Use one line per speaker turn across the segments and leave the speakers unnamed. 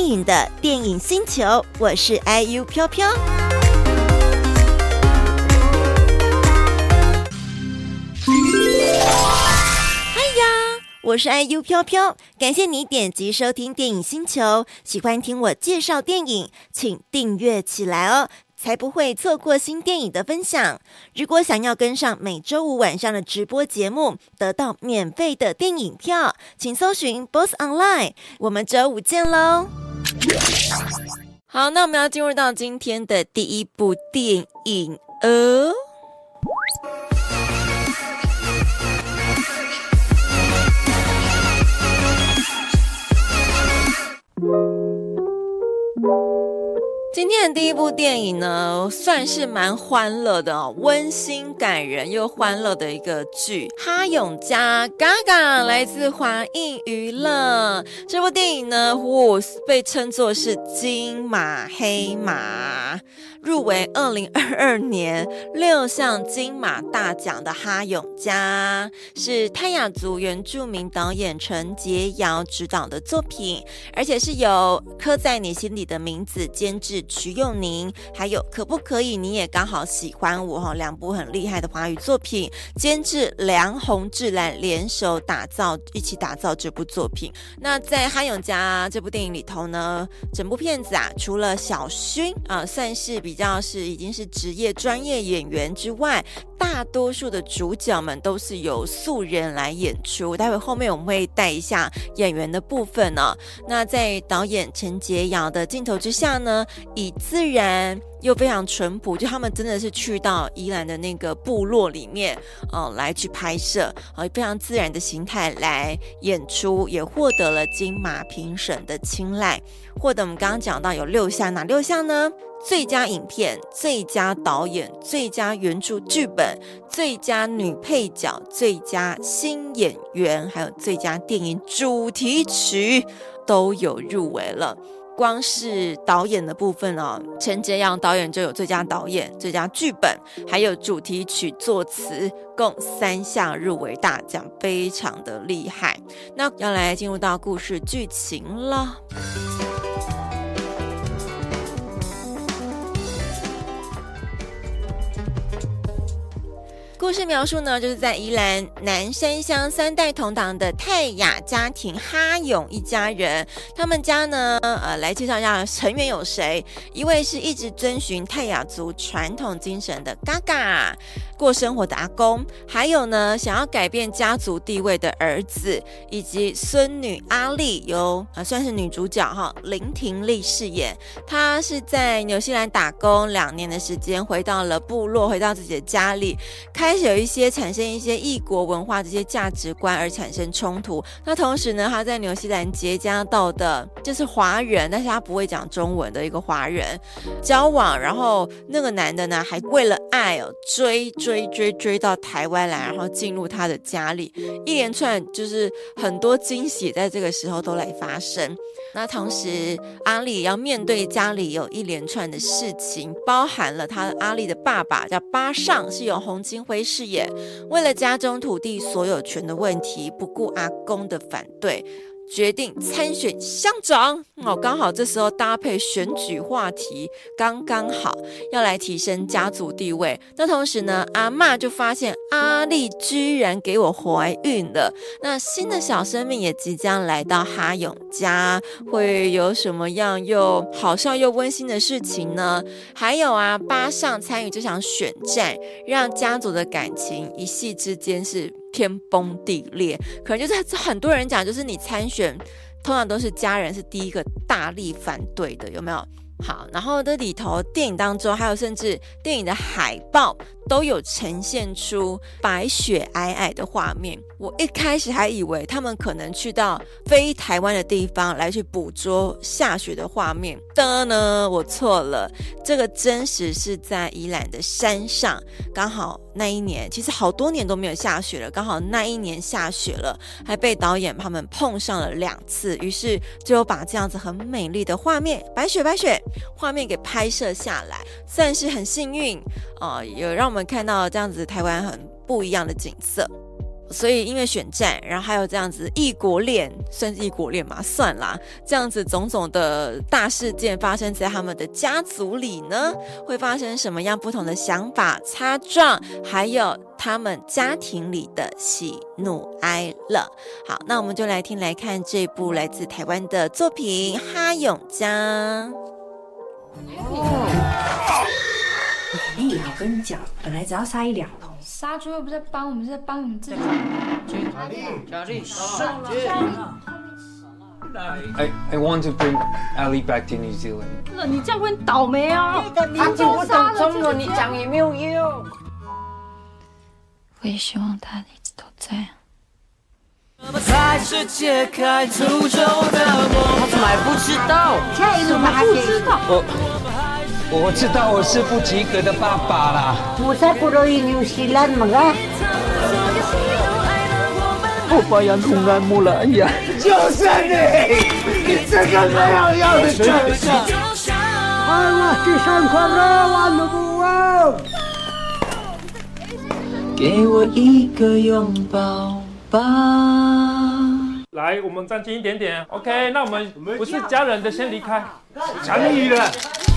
影的電影星球，我是 IU 飄飄。嗨呀，我是 IU 飄飄，感謝你點擊收聽電影星球。喜歡聽我介紹電影，請訂閱起來哦，才不會錯過新電影的分享。如果想要跟上每週五晚上的直播節目，得到免費的電影票，請搜尋 BOSS Online。我們週五見嘍！好，那我們要進入到今天的第一部電影哦。今天的第一部電影呢，算是蠻歡樂的哦，溫馨感人又歡樂的一個劇，《哈勇家》Gaga 來自華映娛樂。這部電影呢，被稱作是金馬黑馬，入圍2022年6項金馬大獎的《哈勇家》，是泰雅族原住民導演陳潔瑤執導的作品，而且是由刻在你心裡的名字監製瞿幼寧，還有可不可以你也剛好喜歡我，兩部很厲害的華語作品，監製梁弘志來聯手一起打造這部作品。那在《哈勇家》這部電影裡頭呢，整部片子除了小薰算是已經是職業專業演員之外，大多數的主角們都是由素人來演出。待會後面我們會帶一下演員的部分呢。那在導演陳潔瑤的鏡頭之下呢，以自然又非常淳樸，就他們真的是去到宜蘭的那個部落裡面來去拍攝，非常自然的形態來演出，也獲得了金馬評審的青睞，獲得我們剛剛講到有6項，哪6項呢？最佳影片、最佳導演、最佳原著劇本、最佳女配角、最佳新演員，還有最佳電影主題曲都有入圍了。光是導演的部分陳潔瑤導演就有最佳導演、最佳劇本，還有主題曲作詞，共3項入圍大獎，非常的厲害。那要來進入到故事劇情了。故事描述呢，就是在宜蘭南山鄉3代同堂的泰雅家庭哈勇一家人，他們家呢，來介紹一下成員有誰。一位是一直遵循泰雅族傳統精神的 Gaga 過生活的阿公，還有呢，想要改變家族地位的兒子，以及孫女阿麗，由算是女主角林婷麗飾演。她是在紐西蘭打工2年的時間，回到了部落，回到自己的家裡，開始產生一些異國文化這些價值觀而產生衝突。那同時呢，他在紐西蘭結交到的就是華人，但是他不會講中文的一個華人交往，然後那個男的呢，還為了愛追到台灣來，然後進入他的家裡，一連串就是很多驚喜在這個時候都來發生。那同時阿麗也要面對家裡有一連串的事情，包含了阿麗的爸爸叫巴尚，是由洪金輝飾演，為了家中土地所有權的問題，不顧阿公的反對，決定參選鄉長。剛好這時候搭配選舉話題，剛剛好要來提升家族地位。那同時呢，阿嬤就發現阿麗居然給我懷孕了。那新的小生命也即將來到哈勇家，會有什麼樣又好笑又溫馨的事情呢？還有巴尚參與這場選戰，讓家族的感情一夕之間是天崩地裂。可能就是很多人講，就是你參選通常都是家人是第一個大力反對的，有沒有？好，然後這裡頭電影當中還有甚至電影的海報都有呈現出白雪皚皚的畫面。我一開始還以為他們可能去到非台灣的地方來去捕捉下雪的畫面的呢，我錯了。這個真實是在宜蘭的山上，剛好那一年其實好多年都沒有下雪了，剛好那一年下雪了，還被導演他們碰上了2次，於是就把這樣子很美麗的畫面，白雪畫面給拍攝下來，算是很幸運有讓我們看到這樣子台灣很不一樣的景色。 所以因為選戰，然後還有這樣子異國戀，算是異國戀嘛，算啦，這樣子種種的大事件發生在他們的家族裡呢，會發生什麼樣不同的想法、擦撞，還有他們家庭裡的喜怒哀樂。好，那我們就來聽來看這部來自台灣的作品《哈勇家》。
我跟你講，本來只要殺1-2頭，
殺豬又不是在幫我們，是在幫你們自己。
I want to bring Ali back to New Zealand.
你這樣會倒霉啊！
他聽不懂中文，你講也沒有用。
我也希望他一直都在。
他怎麼還不知道？下一個還不知道。
我知道我是不及格的爸爸啦。
我才不樂意紐西蘭嘛啊！
我把羊筒按摩了，哎呀，
就是你這個沒有用的畜生！我去上課了，完了不哦！
給我一個擁抱吧。
來，我們站近一點點 ，OK？那我們不是家人的先離開。
強力了。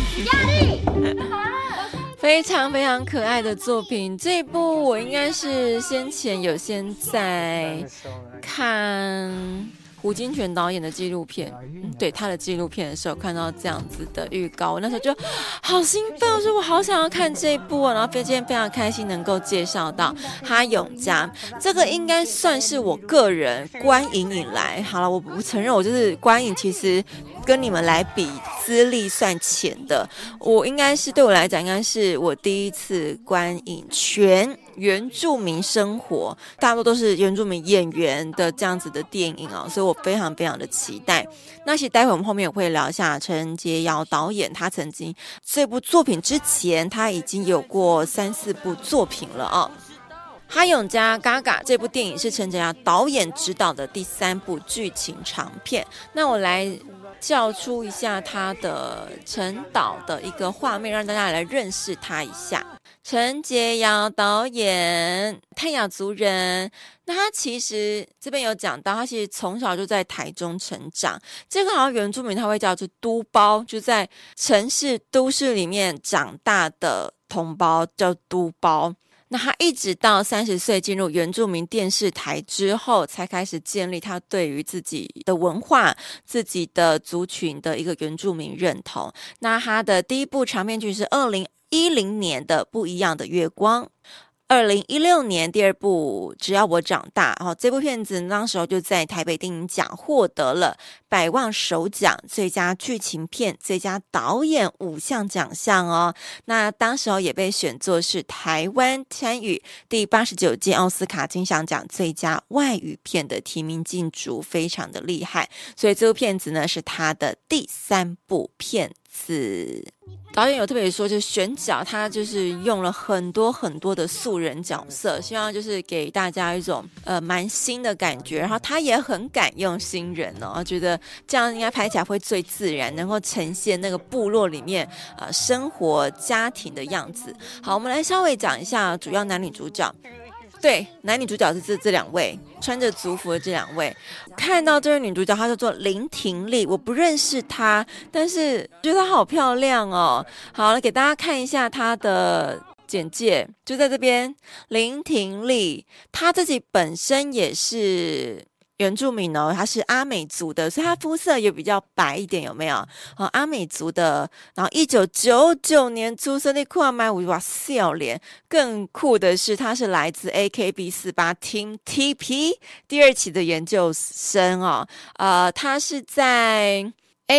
非常非常可愛的作品，這一部我應該是先前有先在看胡金銓導演的紀錄片，對他的紀錄片的時候看到這樣子的預告，我那時候就好興奮，我說我好想要看這一部哦，然後今天非常開心能夠介紹到哈勇家，這個應該算是我個人觀影以來，好了，我不承認我就是觀影其實跟你們來比資歷算淺的，我應該是对我來講應該是我第一次觀影全原住民生活，大多都是原住民演員的這樣子的電影啊，所以我非常非常的期待。那其實待會我們後面也會聊一下陳潔瑤導演，他曾經這部作品之前他已經有過3-4部作品了啊。哈勇家 Gaga 這部電影是陳潔瑤導演執導的第3部劇情長片，那我來叫出一下他的陳導的一個畫面，讓大家來認識他一下。陳潔瑤導演，泰雅族人。那他其實這邊有講到，他其實從小就在台中成長。這個好像原住民他會叫做都胞，就在城市都市裡面長大的同胞叫都胞。那他一直到30歲進入原住民電視台之後，才開始建立他對於自己的文化、自己的族群的一個原住民認同。那他的第一部長片劇是2010年的《不一樣的月光》。2016年第2部《只要我長大》，這部片子當時候就在台北電影獎獲得了百萬首獎、最佳劇情片、最佳導演5項獎項哦。那當時候也被選作是台灣參與第89屆奧斯卡金像獎最佳外語片的提名競逐，非常的厲害。所以這部片子呢是他的第3部片子。導演有特別說，就選角他就是用了很多很多的素人角色，希望就是給大家一種蠻新的感覺。然後他也很敢用新人哦，覺得這樣應該拍起來會最自然，能夠呈現那個部落裡面生活家庭的樣子。好，我們來稍微講一下主要男女主角。對，男女主角是這2位穿着族服的這2位。看到這位女主角，她叫做林婷麗，我不認識她，但是覺得她好漂亮哦。好了，給大家看一下她的簡介，就在這邊。林婷麗，她自己本身也是原住民哦，他是阿美族的，所以他膚色也比較白一點，有沒有？阿美族的，然後1999年出生的，看買哇笑臉。更酷的是，他是來自 AKB48 Team TP 第2期的研究生哦。他是在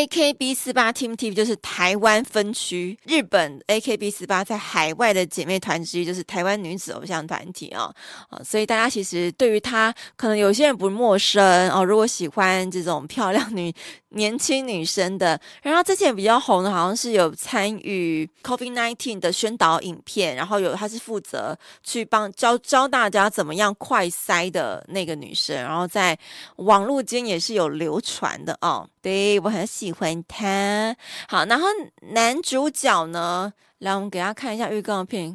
AKB48 Team TP 就是台灣分區，日本 AKB48 在海外的姐妹團之一，就是台灣女子偶像团體哦。所以大家其實對於她，可能有些人不陌生哦。如果喜歡這種漂亮年輕女生的，然後之前比較紅的，好像是有參與 COVID-19 的宣導影片，然後她是負責去幫教大家怎麼樣快篩的那個女生，然後在網絡間也是有流傳的哦。對，我很喜歡她。好，然後男主角呢，來我們給大家看一下預告片。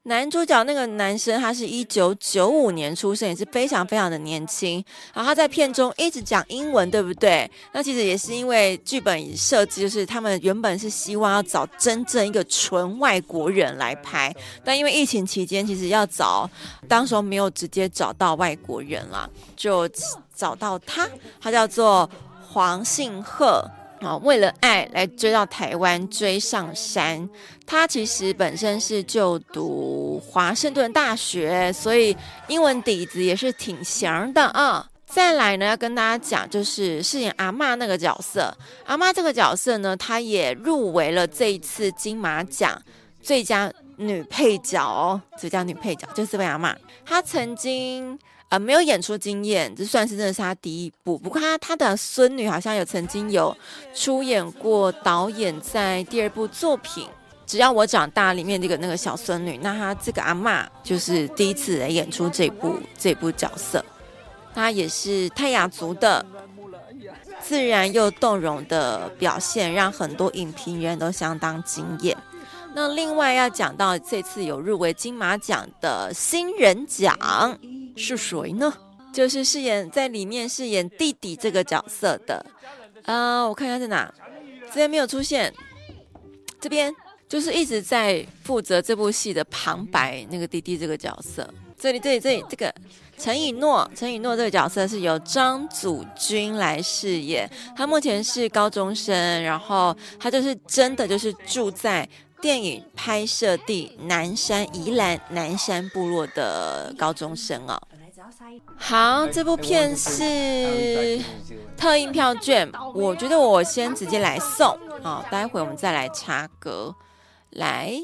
男主角那個男生，他是1995年出生，也是非常非常的年輕。然後他在片中一直講英文，對不對？那其實也是因為劇本設計，就是他們原本是希望要找真正一個純外國人來拍，但因為疫情期間，其實要找，當時候沒有直接找到外國人啦，就找到他叫做黃信赫。為了愛來追到台灣，追上山。他其實本身是就讀華盛頓大學，所以英文底子也是挺強的啊。再來呢，要跟大家講，就是飾演阿嬤那個角色。阿嬤這個角色呢，她也入圍了這一次金馬獎最佳女配角哦，最佳女配角就是這位阿嬤。她曾經沒有演出經驗，這算是真的是他第一部。不過他的孫女好像曾經有出演過導演在第二部作品《只要我長大》裡面那個小孫女。那他這個阿嬤就是第一次來演出這部角色。他也是泰雅族的，自然又動容的表現，讓很多影評人都相當驚艷。那另外要講到這次有入圍金馬獎的新人獎是誰呢？就是在裡面飾演弟弟這個角色的，我看一下在哪，這邊沒有出現，這邊就是一直在負責這部戲的旁白那個弟弟這個角色。這裡這個陳以諾這個角色是由張祖君來飾演，他目前是高中生，然後他就是真的就是住在電影拍攝地宜蘭南山部落的高中生哦。好，這部片是特映票券，我覺得我先直接來送哦，待會我們再來插歌。來，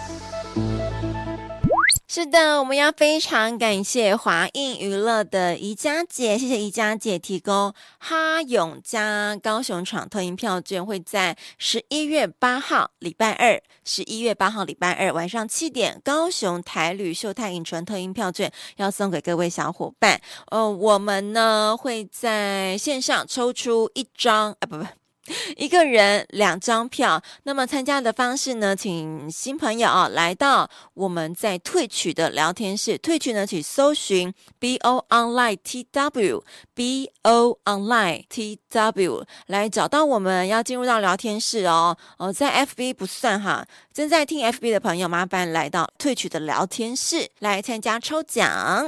是的，我們要非常感謝華映娛樂的宜家姐，謝謝宜家姐提供哈勇家高雄場特映票券，會在11月8號禮拜二晚上7點，高雄台旅秀泰影城特映票券要送給各位小夥伴。我們呢會在線上抽出一個人2張票。那麼參加的方式呢，請新朋友來到我們在Twitch的聊天室，Twitch呢去搜尋 BO Online TW 來找到我們，要進入到聊天室哦。在 FB 不算哈，正在聽 FB 的朋友麻煩來到Twitch的聊天室來參加抽獎。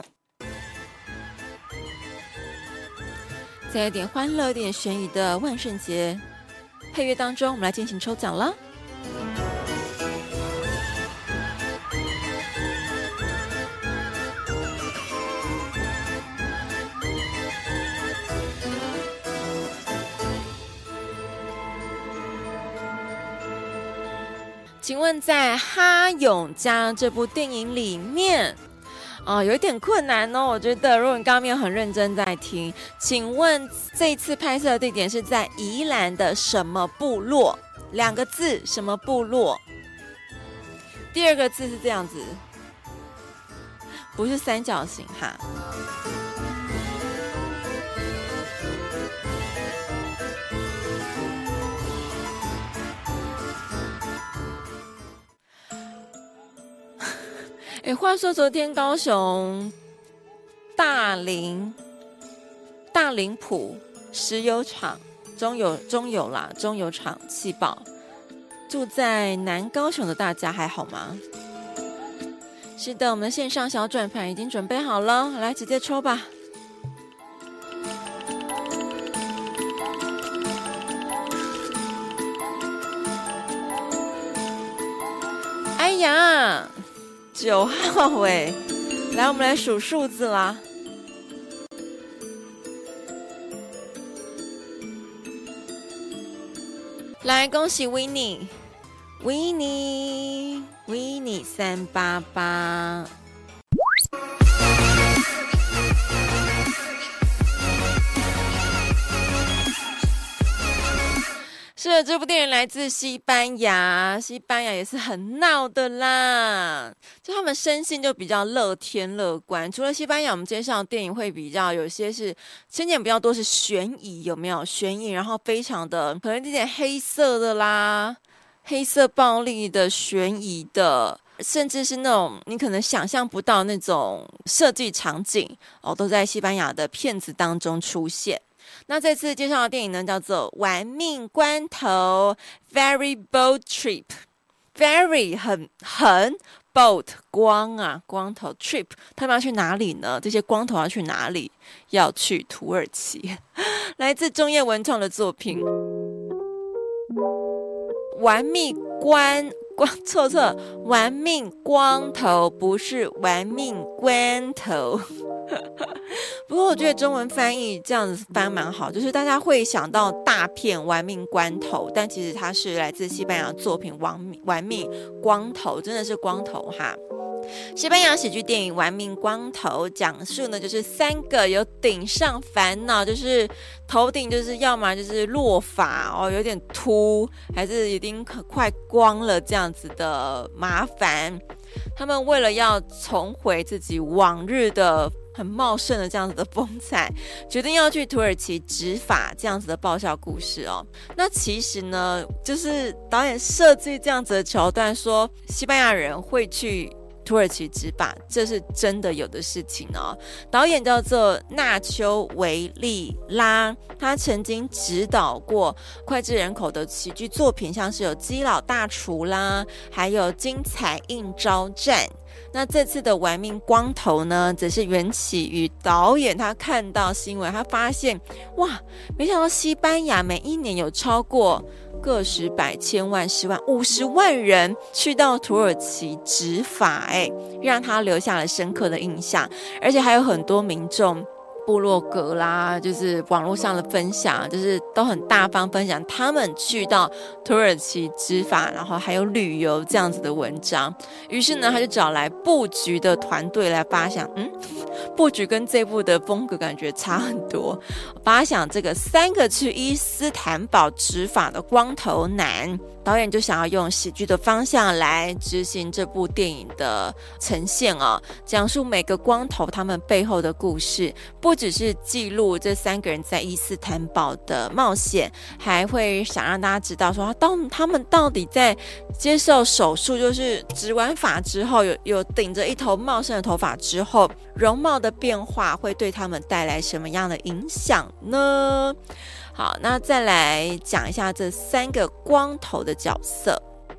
再有點歡樂、有點懸疑的萬聖節配樂當中，我們來進行抽獎了。請問在《哈勇家》這部電影裡面有一點困難哦，我覺得如果你剛剛沒有很認真在聽，請問這一次拍攝的地點是在宜蘭的什麼部落？2個字，什麼部落？第2個字是這樣子，不是三角形哈。話說昨天高雄大林埔石油廠中油廠氣爆，住在南高雄的大家還好嗎？是的，我們的線上小轉盤已經準備好了，來直接抽吧。哎呀，9號哎，來，我們來數數字啦。來，恭喜 Winnie 388。是的，這部電影來自西班牙也是很鬧的啦，就他們生性就比較樂天樂觀。除了西班牙，我們介紹的電影會比較有些是情節比較多是懸疑，有沒有懸疑？然後非常的可能有點黑色的啦，黑色暴力的、懸疑的甚至是那種你可能想象不到那種設計場景都在西班牙的片子當中出現。那這次介紹的電影呢，叫做《玩命關頭》（Very Bold Trip）。Very 很bold 光頭 trip， 他們要去哪裡呢？這些光頭要去哪裡？要去土耳其。來自中葉文創的作品。玩命錯，玩命光頭不是玩命關頭。不過我覺得中文翻譯這樣子翻蠻好，就是大家會想到大片玩命關頭，但其實它是來自西班牙的作品玩命光頭，真的是光頭哈。西班牙喜劇電影《玩命光頭》講述呢，就是3個有頂上煩惱，就是頭頂就是要麼就是落髮有點禿，還是已經快光了這樣子的麻煩。他們為了要重回自己往日的很茂盛的這樣子的風采，決定要去土耳其植髮這樣子的爆笑故事哦。那其實呢，就是導演設計這樣子的橋段，說西班牙人會去土耳其植髮，這是真的有的事情哦。導演叫做納丘維利拉，他曾經指導過膾炙人口的喜劇作品，像是有《基佬大廚》啦，還有《精彩應召戰》。那這次的玩命光頭呢，則是緣起於導演他看到新聞，他發現哇，沒想到西班牙每一年有超過個十百千萬10萬50萬人去到土耳其植髮，讓他留下了深刻的印象，而且還有很多民眾部落格啦，就是網絡上的分享，就是都很大方分享他們去到土耳其植髮，然後還有旅遊這樣子的文章。於是呢，他就找來布局的團隊來發想，布局跟這部的風格感覺差很多。發想這個3個去伊斯坦堡植髮的光頭男，導演就想要用喜劇的方向來執行這部電影的呈現哦，講述每個光頭他們背後的故事，不只是記錄這3個人在伊斯坦堡的冒險，還會想讓大家知道說他們到底在接受手術，就是植完髮之後有頂着一頭茂盛的頭髮之後，容貌的變化會對他們帶來什麼樣的影響呢？好，那再來講一下這3個光頭的角色。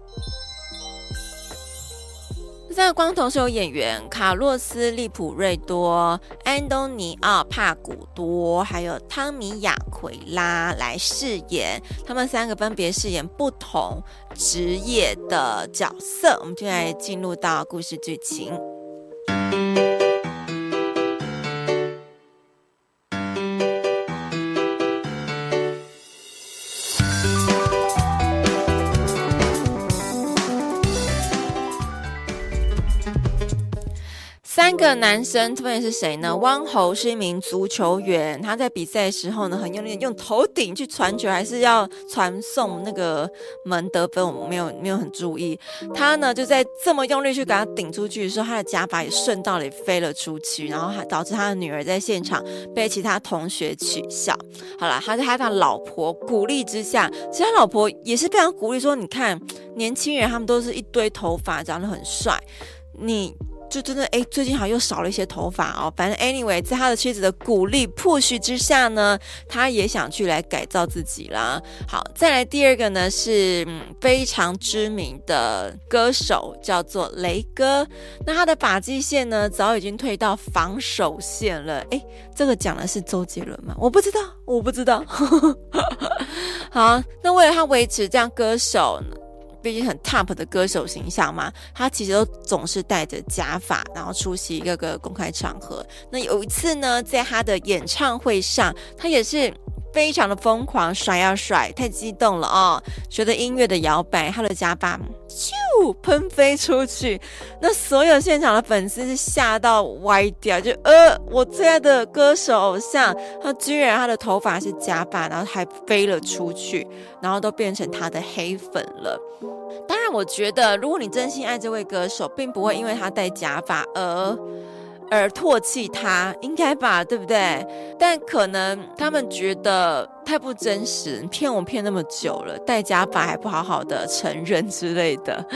這3個光頭是由演員卡洛斯·利普瑞多、安東尼奧·帕古多還有湯米亞奎拉來飾演，他們3個分別飾演不同職業的角色。我們就來進入到故事劇情。3個男生分別是誰呢？汪侯是一名足球員，他在比賽的時候呢，很用力用頭頂去傳球，還是要傳送那個門得分，我沒有很注意。他呢就在這麼用力去給他頂出去的時候，他的假髮也順道也飛了出去，然後還導致他的女兒在現場被其他同學取笑。好了，他在他的老婆鼓勵之下，其實他老婆也是非常鼓勵說，你看年輕人他們都是一堆頭髮，長得很帥，你就真的最近好像又少了一些頭髮哦。反正 anyway， 在他的妻子的鼓勵 push 之下呢，他也想去來改造自己啦。好，再來第2個呢是非常知名的歌手，叫做雷哥。那他的髮際線呢早已經退到防守線了。這個講的是周杰倫嗎？我不知道。好，那為了他維持這樣歌手呢，畢竟很 top 的歌手形象嘛，他其實都總是戴着假髮，然後出席各個公開場合。那有一次呢，在他的演唱會上，他也是非常的瘋狂，甩呀甩，太激動了哦！隨着音樂的摇擺，他的假髮咻噴飛出去，那所有現場的粉絲是嚇到歪掉，就我最愛的歌手偶像，他居然他的頭髮是假髮，然後還飛了出去，然後都變成他的黑粉了。當然我覺得如果你真心愛這位歌手，並不會因為他戴假髮而唾棄他，應該吧，對不對？但可能他們覺得太不真實，騙我騙那麼久了，戴假髮還不好好的承認之類的。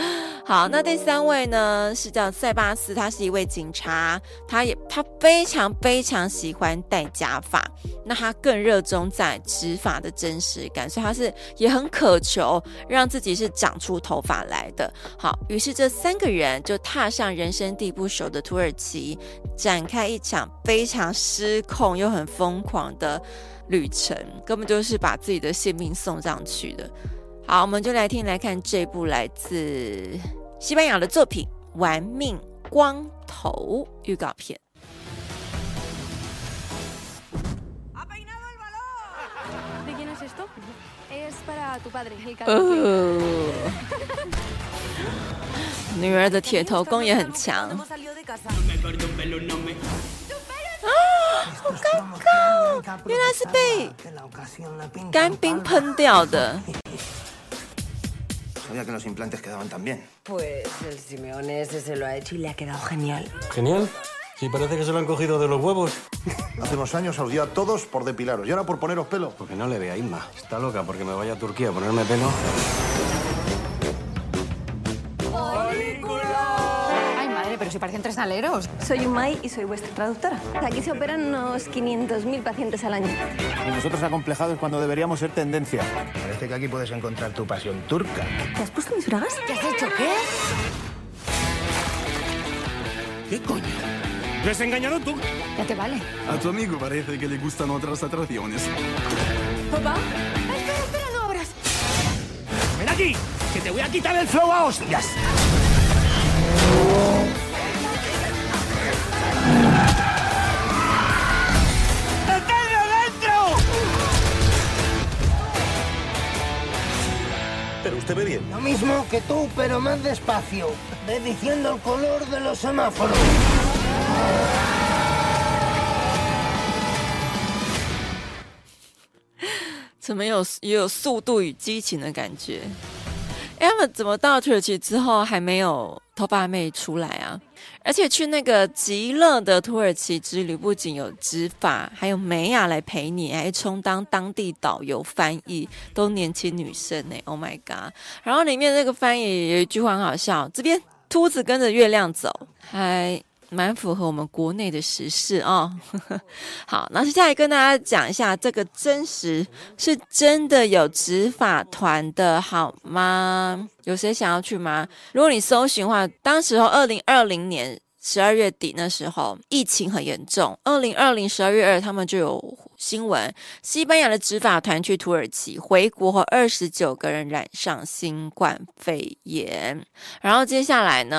好，那第3位呢是叫塞巴斯，他是一位警察，他非常非常喜歡戴假髮，那他更熱衷在直髮的真實感，所以他也很渴求讓自己是長出頭髮來的。好，於是這3個人就踏上人生地不熟的土耳其，展開一場非常失控又很瘋狂的旅程，根本就是把自己的性命送上去的。好，我們就来看這部來自西班牙的作品《玩命光頭》預告片。女兒的鐵頭功也很強。好尷尬，原來是被乾冰噴掉的。
Sabía que los implantes quedaban tan bien.
Pues el Simeone ese se lo ha hecho y le ha quedado genial.
¿Genial? Sí, parece que se lo han cogido de los huevos.
Hace unos años os dio a todos por depilaros y ahora por poneros pelo.
Porque no le ve a Isma. Está loca porque me vaya a Turquía a ponerme pelo.
Ay, madre, pero si parecen 3 aleros.
Soy Umay y soy vuestra traductora. Aquí se operan unos 500.000 pacientes al año.
Y nosotros acomplejados cuando deberíamos ser tendencia. Parece que aquí puedes encontrar tu pasión turca.
¿Te has puesto mis bragas?
¿Qué has hecho? ¿Qué?
¿Qué coño? ¿Lo has engañado tú?
Ya te vale.
A tu amigo parece que le gustan otras atracciones.
¿Papá? Espera, no abras.
¡Ven aquí! ¡Que te voy a quitar el flow a hostias! ¡Metedlo dentro!
Pero usted ve bien.
Lo mismo que tú, pero más despacio. Ve diciendo el color de los semáforos.
怎么也有速度与激情的感覺？他們怎麼到土耳其之後還沒有頭髮妹出來啊？而且去那個極樂的土耳其之旅，不僅有直髮，還有梅亞來陪你，還充當當地導遊翻譯，都年輕女生呢 ！Oh my god！ 然後裡面那個翻譯有一句話很好笑，這邊禿子跟着月亮走，還蠻符合我們國內的時事哦。好，那接下來跟大家講一下，這個真實是真的有直髮團的好嗎？有誰想要去嗎？如果你搜尋的話，當時候2020年12月底那時候疫情很嚴重，2020 12月2他們就有新聞，西班牙的直髮團去土耳其，回國後29個人染上新冠肺炎。然後接下來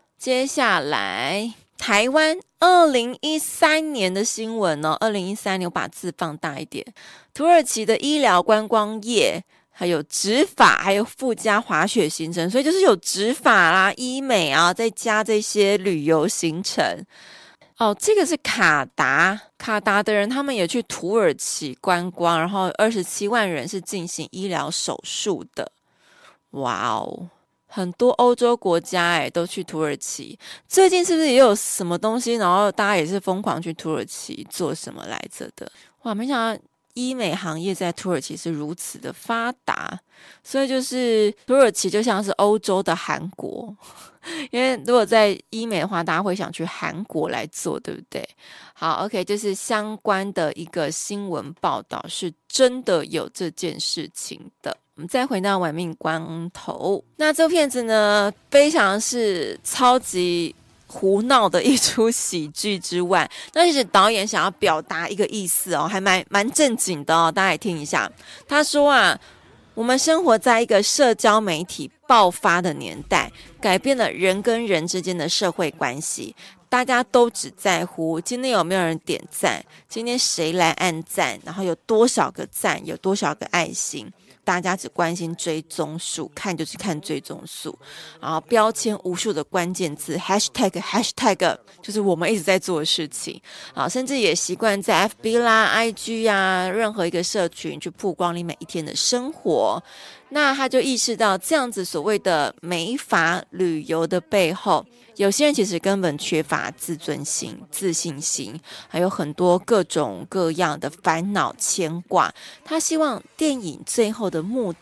台灣2013年的新聞哦，2013年我把字放大一點，土耳其的醫療觀光業還有直髮，還有附加滑雪行程，所以就是有直髮啦、醫美啊，再加這些旅遊行程。哦，這個是卡達的人，他們也去土耳其觀光，然後27萬人是進行醫療手術的。哇哦！很多歐洲國家都去土耳其，最近是不是也有什麼東西，然後大家也是瘋狂去土耳其做什麼來着的？哇，沒想到醫美行業在土耳其是如此的發達，所以就是土耳其就像是歐洲的韓國，因為如果在醫美的話，大家會想去韓國來做，對不對？好 ，OK， 就是相關的一個新聞報道是真的有這件事情的。我們再回到玩命光頭，那這部片子呢，非常是超級胡鬧的一出喜劇之外，那其實導演想要表達一個意思哦，還蠻正經的哦，大家也聽一下。他說啊，我們生活在一個社交媒體爆發的年代，改變了人跟人之間的社會關係。大家都只在乎今天有沒有人點讚，今天誰來按讚，然後有多少個讚，有多少個愛心。大家只關心追蹤數，看就是看追蹤數，然後標籤無數的關鍵字 hashtag 就是我們一直在做的事情啊，甚至也習慣在 FB 啦 IG 啊任何一個社群去曝光你每一天的生活。那他就意識到這樣子所謂的美髮旅遊的背後，有些人其實根本缺乏自尊心、自信心，還有很多各種各樣的煩惱牽掛。他希望電影最後的目的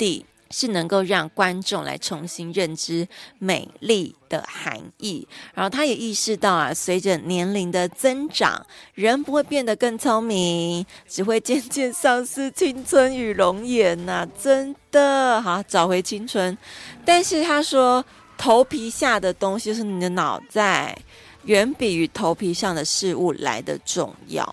是能夠讓觀眾來重新認知美麗的含義，然後他也意識到啊，隨着年齡的增長，人不會變得更聰明，只會漸漸喪失青春與容顏吶，真的好找回青春。但是他說，頭皮下的東西就是你的腦袋，遠比於頭皮上的事物來得重要。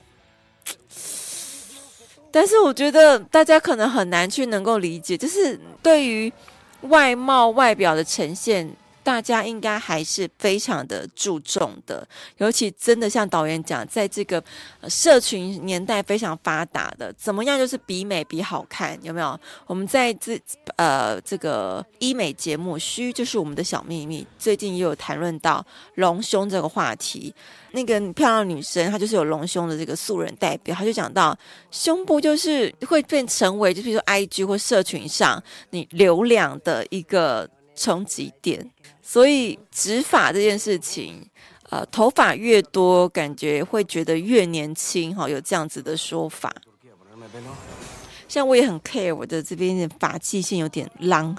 但是我覺得大家可能很難去能夠理解，就是對於外貌外表的呈現，大家應該還是非常的注重的，尤其真的像導演講，在這個社群年代非常發達的，怎麼樣就是比美比好看，有沒有？我們在這個醫美節目《虛就是我們的小秘密》，最近也有談論到隆胸這個話題。那個漂亮女生，她就是有隆胸的這個素人代表，她就講到胸部就是會變成為，就比如說 IG 或社群上你流量的一個衝擊點，所以植髮這件事情，頭髮越多，感覺會覺得越年輕，有這樣子的說法。像我也很 care 我的這邊的髮際線有點浪。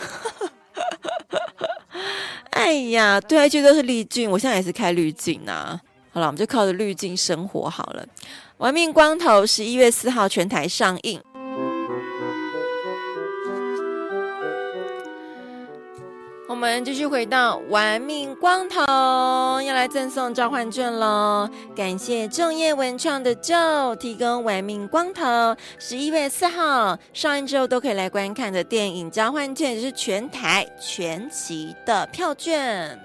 哎呀，對啊，一切都是濾鏡，我現在也是開濾鏡啊。好了，我們就靠着濾鏡生活好了。玩命光頭11月4號全台上映。我們繼續回到玩命光頭，要來贈送召喚券咯。感謝正業文創的 Joe 提供玩命光頭11月4號上映之後都可以來觀看的電影召喚券，就是全台全期的票券。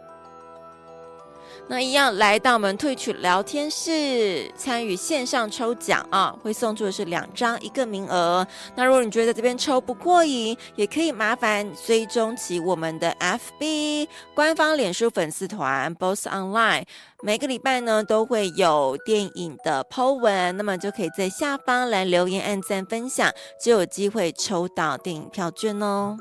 那一樣來到我們Twitch聊天室參與線上抽獎啊，會送出的是2張1個名額。那如果你覺得在這邊抽不過癮，也可以麻煩追蹤起我們的 FB 官方臉書粉絲團 Boss Online， 每個禮拜呢都會有電影的 po 文，那麼就可以在下方來留言按讚分享，就有機會抽到電影票券哦。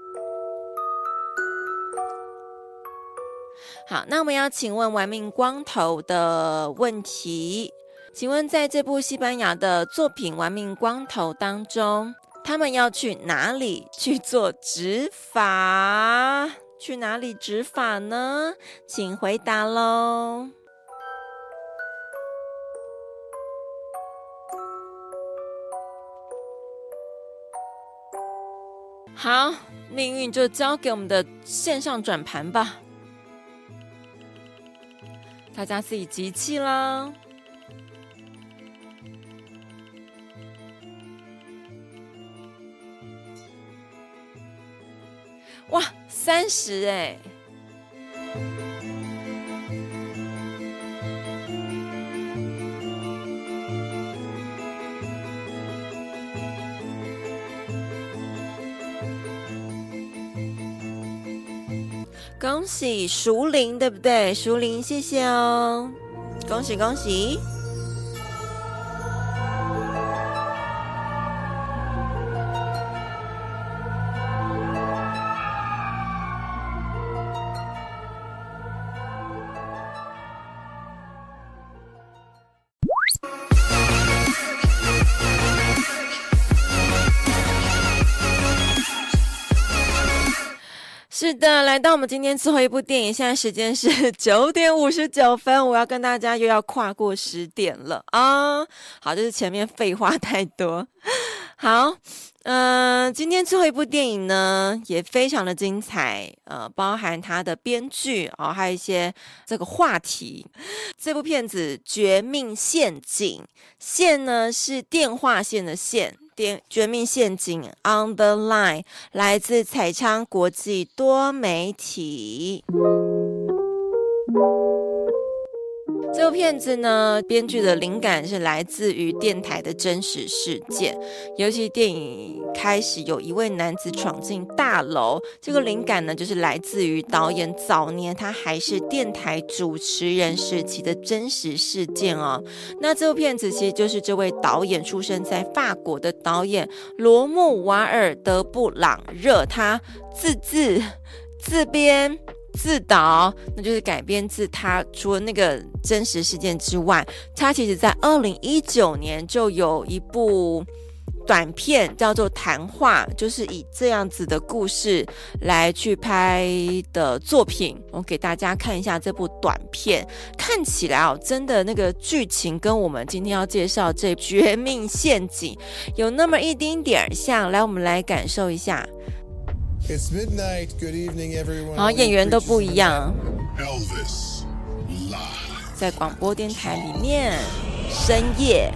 好，那我們要請問玩命光頭的問題，請問在這部西班牙的作品《玩命光頭》當中，他們要去哪裡去做植髮？去哪裡植髮呢？請回答嘍。好，命運就交給我們的線上轉盤吧。大家自己集氣啦！哇，30欸！恭喜熟齡，對不對？熟齡，謝謝哦，恭喜恭喜！是的，來到我們今天最後一部電影，現在時間是9點59分，我要跟大家又要跨過10點了啊！好，就是前面廢話太多。好，今天最後一部電影呢也非常的精彩，包含它的編劇還有一些這個話題。這部片子《絕命陷阱》，線呢是電話線的線。絕命陷阱 On the Line 來自彩昌國際多媒體。這部片子呢，編劇的靈感是來自於電台的真實事件，尤其電影開始有一位男子闖進大樓，這個靈感呢就是來自於導演早年他還是電台主持人時期的真實事件哦。那這部片子其實就是這位導演出生在法國的導演羅姆瓦爾德布朗熱，他自編自導，那就是改編自他除了那個真實事件之外，他其實在2019年就有一部短片叫做談話，就是以這樣子的故事來去拍的作品。我給大家看一下這部短片，看起來真的那個劇情跟我們今天要介紹這絕命陷阱有那麼一丁點像。來，我們來感受一下。
It's midnight. Good evening, everyone.
然後演員都不一樣。
Elvis live.
在廣播電台裡面，深夜。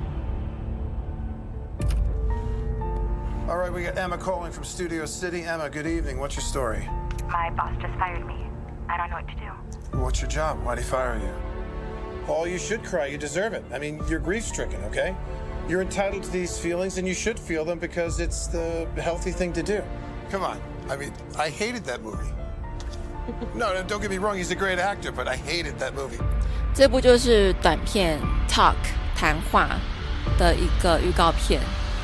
All right, we got Emma calling from Studio City. Emma, good evening. What's your story?
My boss just fired me. I don't know what to do.
What's your job? Why'd he fire you? Paul, you should cry. You deserve it. I mean, you're grief-stricken, okay? You're entitled to these feelings, and you should feel them because it's the healthy thing to do.
Come on. I mean, I hated that movie. No, don't get me wrong. He's a great actor, but I hated that movie.
這部就是短片 Talk 談話的一個預告片。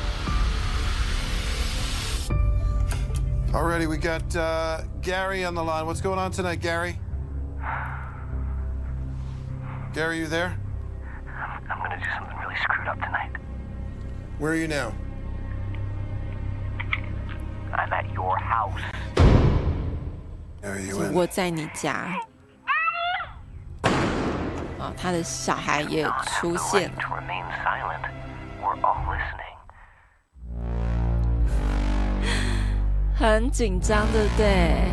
Alrighty, we got Gary on the line. What's going on tonight, Gary? Gary, you there?
I'm gonna do something really screwed up tonight.
Where are you now?
I'm at your house.
Are you in?
我在你家。他的小孩也出現了。很緊張，對不對？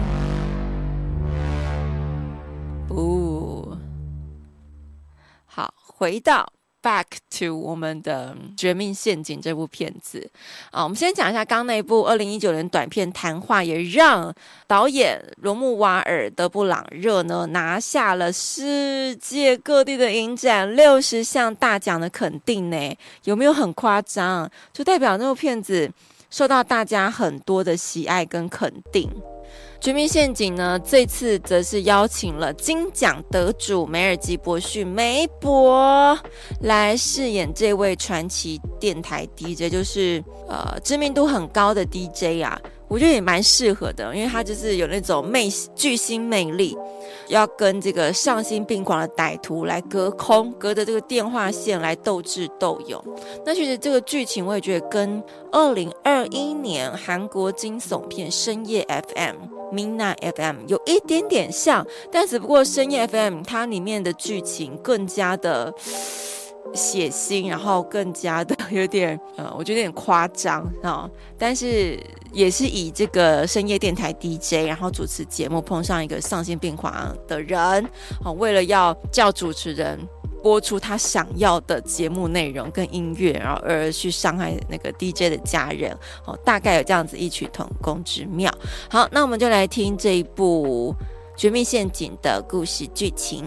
好，回到 back to 我們的《絕命陷阱》這部片子我們先講一下剛那部2019年短片《談話》，也讓導演羅姆瓦爾·德布朗熱呢拿下了世界各地的影展60項大獎的肯定呢，有沒有很誇張？就代表那部片子受到大家很多的喜愛跟肯定。絕命陷阱呢，這次則是邀請了金獎得主梅爾吉伯遜梅伯來飾演這位傳奇電台 DJ， 就是知名度很高的 DJ 啊，我覺得也蠻適合的，因為他就是有那種巨星魅力，要跟這個喪心病狂的歹徒來隔着這個電話線來鬥智鬥勇。那其實這個劇情我也覺得跟2021年韓國驚悚片深夜 FM。Midnight FM 有一點點像，但只不過深夜 FM 它裡面的劇情更加的血腥，然後更加的有點我覺得有點誇張但是也是以這個深夜電台 DJ 然後主持節目碰上一個喪心病狂的人為了要叫主持人播出他想要的節目內容跟音樂，然後而去傷害那個 DJ 的家人大概有這樣子異曲同工之妙。好，那我們就來聽這一部《絕命陷阱》的故事劇情。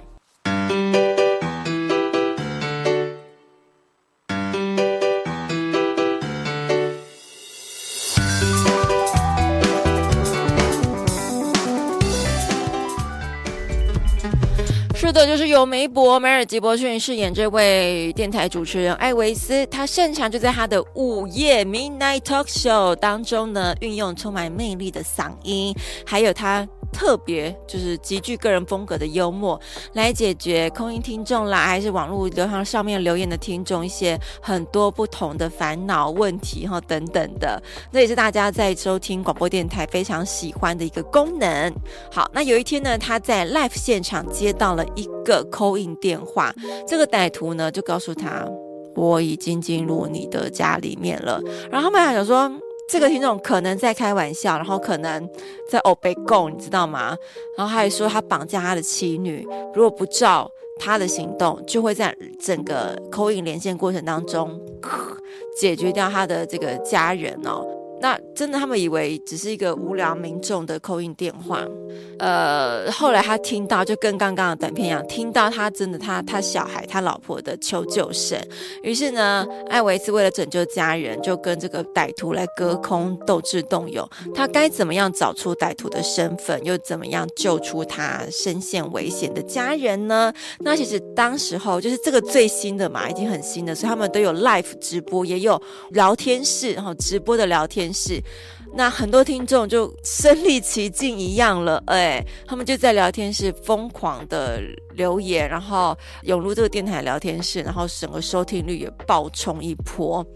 是的，就是由梅爾吉伯遜飾演這位電台主持人艾維斯，他擅長就在他的午夜 Midnight Talk Show 當中呢，運用充滿魅力的嗓音，還有他特別就是極具個人風格的幽默，來解決空音聽眾啦，還是網絡流行上面留言的聽眾一些很多不同的煩惱問題等等的，這也是大家在收聽廣播電台非常喜歡的一個功能。好，那有一天呢，他在 live 現場接到了一個 call in 電話，這個歹徒呢就告訴他，我已經進入你的家裡面了。然後他們還想說，這個聽眾可能在開玩笑，然後可能在歐北共，你知道嗎？然後他還說他綁架他的妻女，如果不照他的行動，就會在整個 call in 連線過程當中解決掉他的這個家人那真的他們以為只是一個無聊民眾的 call in 電話，後來他聽到就跟剛剛的短片一樣，聽到他真的他小孩他老婆的求救聲，於是呢，艾維斯為了拯救家人，就跟這個歹徒來隔空鬥智鬥勇，他該怎麼樣找出歹徒的身份，又怎麼樣救出他身陷危險的家人呢？那其實當時候就是這個最新的嘛，已經很新的，所以他們都有 live 直播，也有聊天室，然後直播的聊天室，那很多聽眾就身歷其境一樣了，他們就在聊天室瘋狂的留言，然後湧入這個電台聊天室，然後整個收聽率也爆衝一波。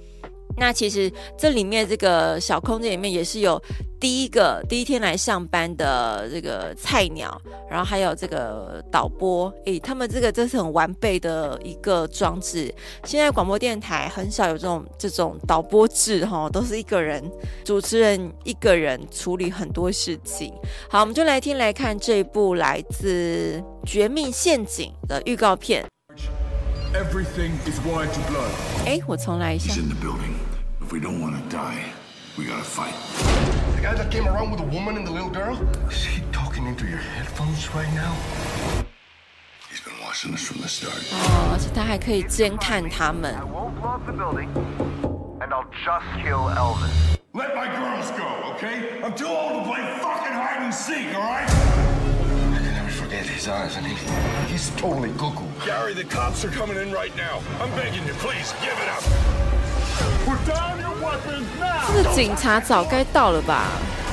那其實這裡面這個小空間裡面也是有第一天來上班的這個菜鳥，然後還有這個導播，他們這是很完備的一個裝置。現在廣播電台很少有這種導播制都是一個人主持人一個人處理很多事情。好，我們就來看這一部來自《絕命陷阱》的預告片。
Everything is wide to blood.
我重來一下。
He's in the building. If we don't want to die, we gotta fight.
The guy that came around with the woman and the little girl? Is he talking into your headphones right now?
He's been watching us from the start.
而且他还可以监看他们。
I won't blow up the building, and I'll just kill Elvis.
Let my girls go, okay? I'm too old to play fucking hide and seek, all right?
I can never forget his eyes. I mean, he's totally cuckoo.
Gary, the cops are coming in right now. I'm begging you, please, give it up. Put down your weapons now.
这个警察早该到了吧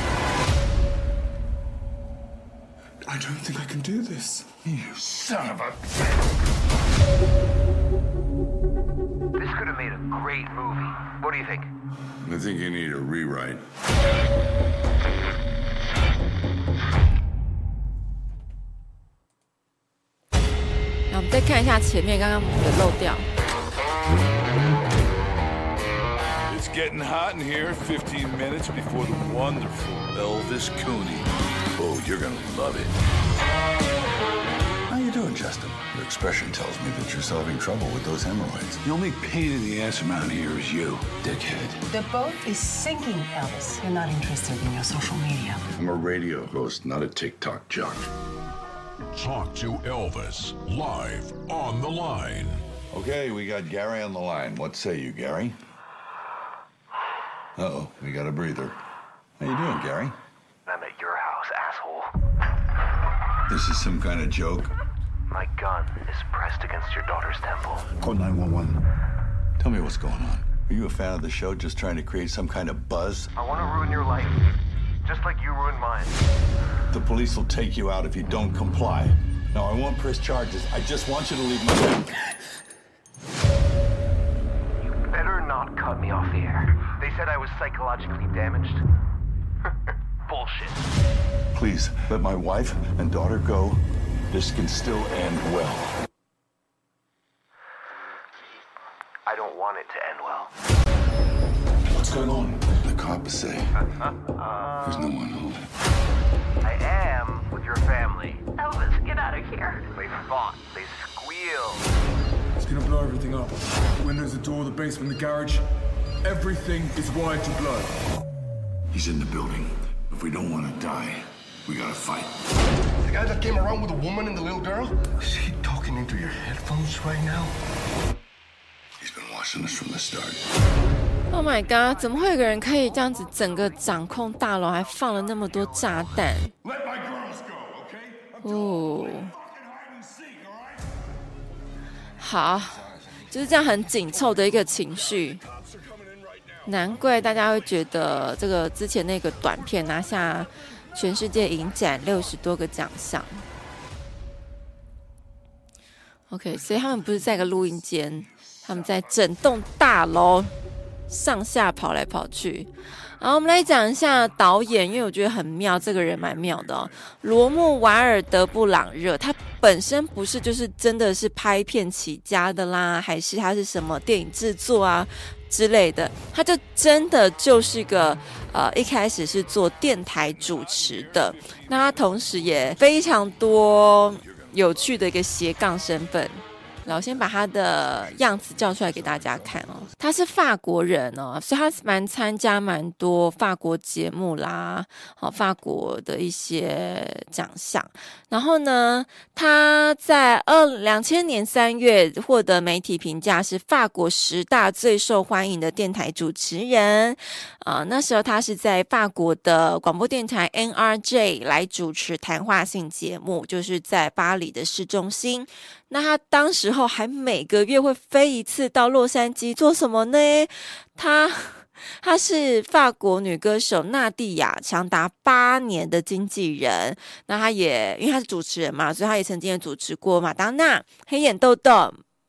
I don't think I can do this. You son of a...
This could have made a great movie. What do you think?
I think you need a rewrite.
我们再看一下前面，刚刚有漏掉。
It's getting hot in here. 15 minutes before the wonderful Elvis Cooney. Oh, you're gonna love it. How you doing, Justin? Your expression tells me that you're solving trouble with those hemorrhoids. The only pain in the ass around here is you, dickhead.
The boat is sinking, Elvis. You're not interested in your social media.
I'm a radio host, not a TikTok jock.
Talk to Elvis, live on the line.
Okay, we got Gary on the line. What say you, Gary? Uh-oh, we got a breather. How you doing, Gary?
I'm at your house, asshole.
This is some kind of joke?
My gun is pressed against your daughter's temple.
Call 911. Tell me what's going on. Are you a fan of the show, just trying to create some kind of buzz?
I want to ruin your life, just like you ruined mine.
The police will take you out if you don't comply. Now, I won't press charges. I just want you to leave my room.
You better not cut me off the air. They said I was psychologically damaged. Bullshit.
Please, let my wife and daughter go. This can still end well.
I don't want it to end well.
What's going on? The cops say there's no one home.
I am with your family.
Elvis, get out of here.
They fought. They squealed.
It's gonna blow everything up. The windows, the door, the basement, the garage. Everything is wide to blood.
He's in the building. If we don't want to die, we gotta fight.
The guy that came around with the woman and the little girl? Is he talking into your headphones right now?
He's been watching us from the start.
Oh my god！ 怎么会有个人可以這樣子整個掌控大樓，還放了那麼多炸彈？哦，好，就是這樣很緊湊的一個情緒。難怪大家會覺得這個之前那個短片拿下全世界影展60多個獎項。OK， 所以他們不是在一個錄音間，他們在整棟大樓上下跑來跑去。然後我們來講一下導演，因為我覺得很妙，這個人蠻妙的哦。羅姆瓦爾德布朗熱，他本身不是就是真的是拍片起家的啦，還是他是什麼電影製作啊之類的，他就真的就是個一開始是做電台主持的，那他同時也非常多有趣的一個斜槓身份。然後先把他的樣子叫出來給大家看哦，他是法國人哦，所以他參加蠻多法國節目啦，法國的一些獎項。然後呢，他在2000年3月獲得媒體評價是法國10大最受歡迎的電台主持人。那時候他是在法國的廣播電台 NRJ 來主持談話性節目，就是在巴黎的市中心。那他當時候還每個月會飛一次到洛杉磯做什麼呢？他是法國女歌手娜蒂亞長達8年的經紀人。那他也因為他是主持人嘛，所以他也曾經也主持過馬當娜、黑眼豆豆、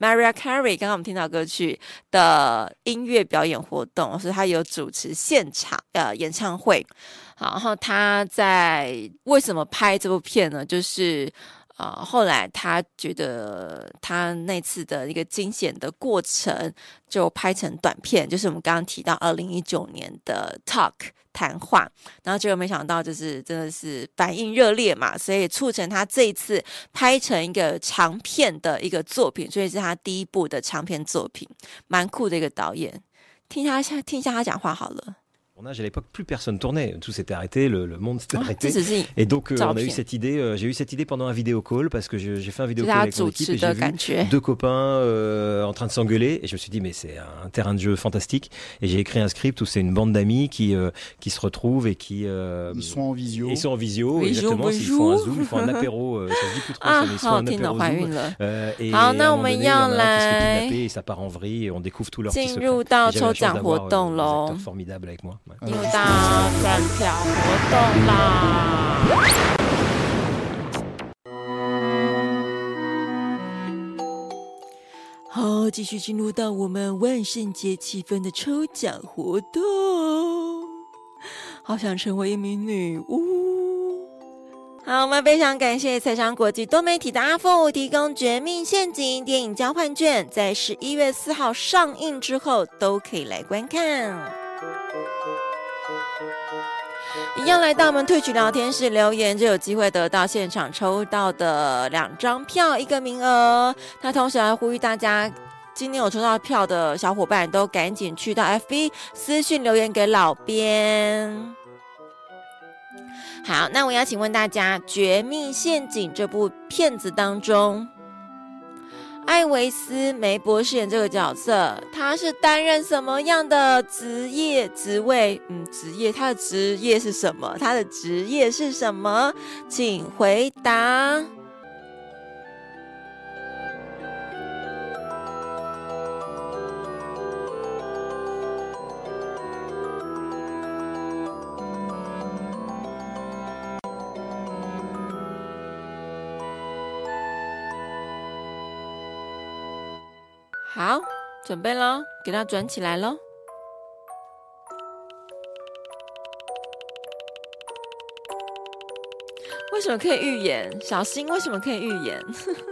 Mariah Carey 剛剛我們聽到歌曲的音樂表演活動，所以他有主持現場演唱會。好，然後他在為什麼拍這部片呢？就是後來他覺得他那次的一個驚險的過程就拍成短片，就是我們剛剛提到2019年的 Talk 談話，然後結果沒想到就是真的是反應熱烈嘛，所以促成他這一次拍成一個長片的一個作品，所以是他第一部的長片作品，蠻酷的一個導演。聽一下他講話好了。
À l'époque, plus personne tournait, tout s'était arrêté, le monde s'était arrêté. Et donc, on a eu cette idée, j'ai eu cette idée pendant un vidéo call parce que j'ai fait un vidéo call avec mon équipe et j'ai vu deux copains en train de s'engueuler et je me suis dit, mais c'est un terrain de jeu fantastique. Et j'ai écrit un script où c'est une bande d'amis qui se retrouvent et qui.
Ils sont en visio.
Ils sont en visio, exactement. Ils font un zoom, ils font un apéro, ça se dit plus trop, mais ils font un apéro zoom. Et à un moment donné, il y en a un qui se fait kidnapper et ça part en vrille et on découvre tout leur petit secret. Et j'avais la chance d'avoir des acteurs formidables avec moi.
进入到转票活動啦！好，繼續進入到我們萬聖節氣氛的抽獎活動。好想成為一名女巫。好，我們非常感謝財商國際多媒體的阿富提供《絕命陷阱》電影交換券，在11月4號上映之後都可以來觀看。一樣來到我們 Twitch 聊天室留言，就有機會得到現場抽到的2張票1個名額。那同時還呼籲大家，今天有抽到票的小夥伴都趕緊去到 FB 私訊留言給老編。好，那我要請問大家，《絕命陷阱》這部片子當中，艾維斯梅博士演這個角色，他是擔任什麼樣的職位？職業，他的職業是什麼？他的職業是什麼？請回答。好，準備咯，給它轉起來咯。為什麼可以預言？小新為什麼可以預言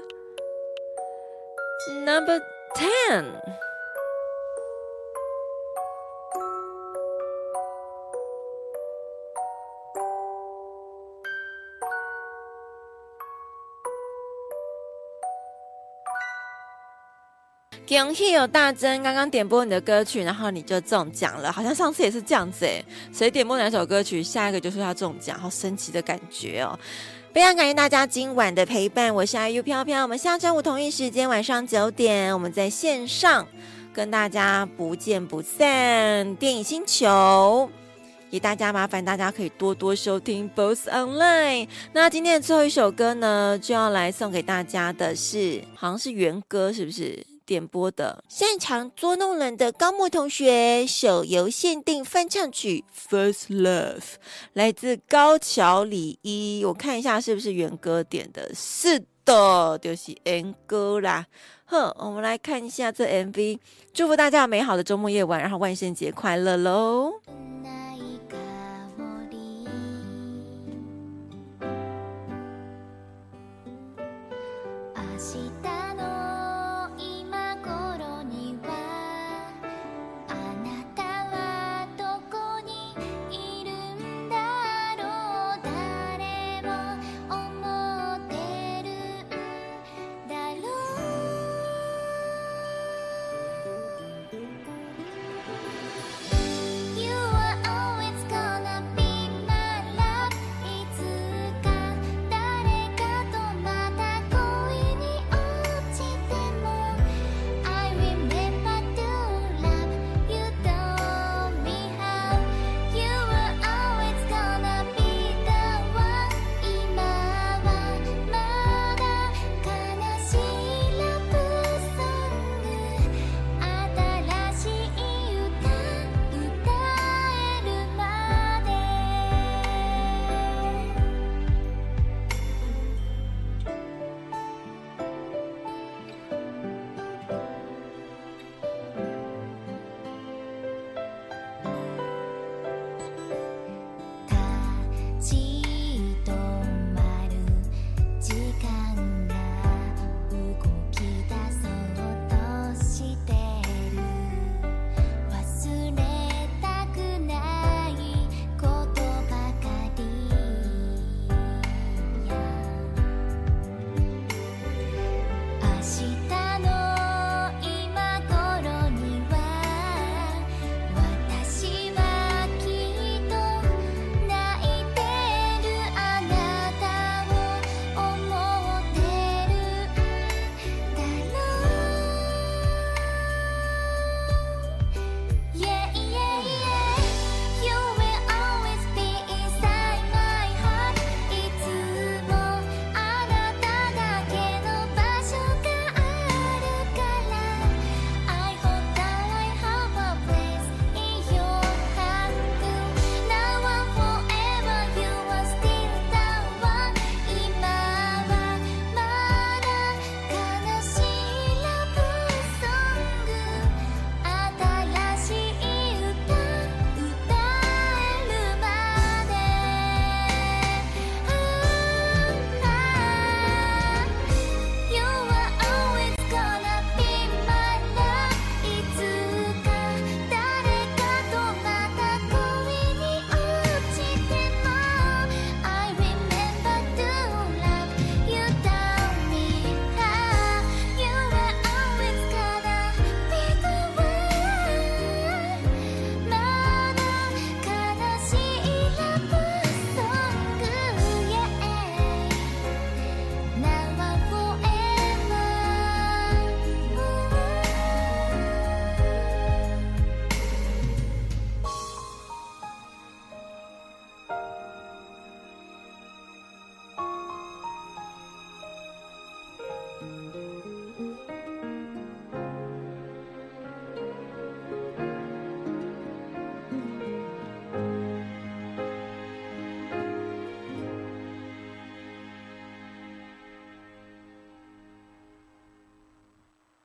？Number 10。恭喜有大珍剛剛點播你的歌曲，然後你就中獎了，好像上次也是這樣子誒，誰點播哪首歌曲，下一個就說要中獎，好神奇的感覺哦！非常感謝大家今晚的陪伴，我是 IU 飄飄，我們下周五同一時間晚上9點，我們在線上跟大家不見不散。電影星球，也大家麻煩大家可以多多收聽 Both Online。那今天的最後一首歌呢，就要來送給大家的是，好像是元歌，是不是？點播的擅長捉弄人的高木同學手遊限定翻唱曲 First Love 來自高橋李依，我看一下是不是元歌點的，是的，就是元歌啦。哼，我們來看一下這 MV， 祝福大家有美好的周末夜晚，然後萬聖節快樂嘍。